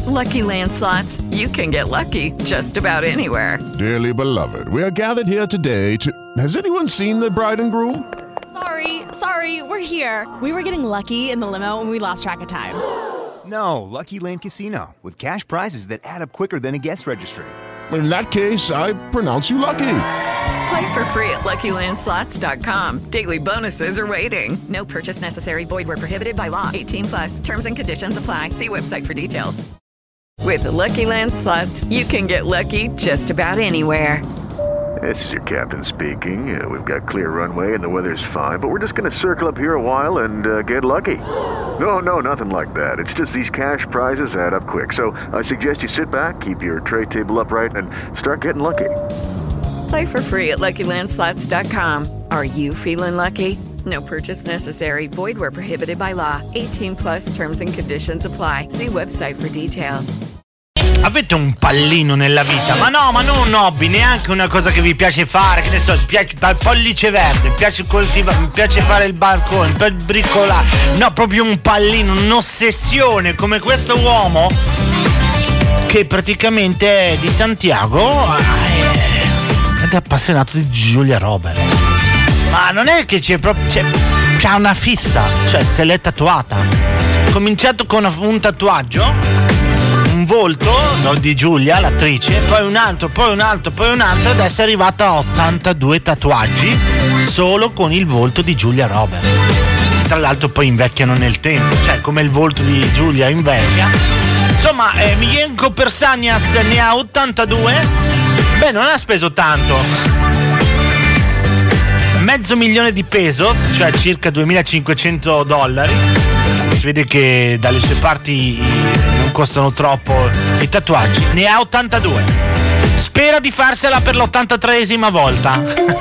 Lucky Land Slots, you can get lucky just about anywhere. Dearly beloved, we are gathered here today to... Has anyone seen the bride and groom? Sorry, we're here. We were getting lucky in the limo and we lost track of time. No, Lucky Land Casino, with cash prizes that add up quicker than a guest registry. In that case, I pronounce you lucky. Play for free at LuckyLandSlots.com. Daily bonuses are waiting. No purchase necessary. Void where prohibited by law. 18+. Terms and conditions apply. See website for details. With the Lucky Land Slots, you can get lucky just about anywhere. This is your captain speaking. We've got clear runway and the weather's fine, but we're just going to circle up here a while and get lucky. No, nothing like that. It's just these cash prizes add up quick. So I suggest you sit back, keep your tray table upright, and start getting lucky. Play for free at LuckyLandSlots.com. Are you feeling lucky? No purchase necessary. Void where prohibited by law. 18+ terms and conditions apply. See website for details. Avete un pallino nella vita? Ma non un hobby, neanche una cosa che vi piace fare, che ne so, piace dal pollice verde, mi piace coltivare, mi piace fare il balcone, per bricolare. No, proprio un pallino, un'ossessione come questo uomo che praticamente è di Santiago ed è appassionato di Julia Roberts. Ma non è che c'è proprio, c'ha una fissa, cioè se l'è tatuata. Ha cominciato con un tatuaggio, un volto di Giulia, l'attrice, poi un altro, ed adesso è arrivata a 82 tatuaggi solo con il volto di Julia Roberts. Tra l'altro poi invecchiano nel tempo, cioè come il volto di Giulia invecchia. Insomma, Milenko Persanias ne ha 82. Beh, non ha speso tanto. $500,000 di pesos, cioè circa $2.500. Si vede che dalle sue parti non costano troppo i tatuaggi. Ne ha 82. Spera di farsela per l'83esima volta.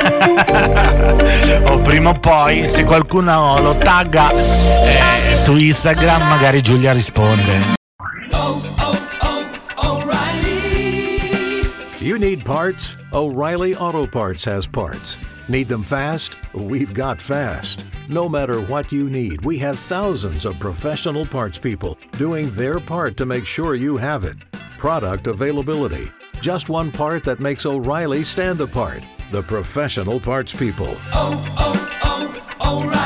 O prima o poi, se qualcuno lo tagga su Instagram, magari Giulia risponde. You need parts? O'Reilly Auto Parts has parts. Need them fast? We've got fast. No matter what you need, we have thousands of professional parts people doing their part to make sure you have it. Product availability. Just one part that makes O'Reilly stand apart. The professional parts people. O'Reilly.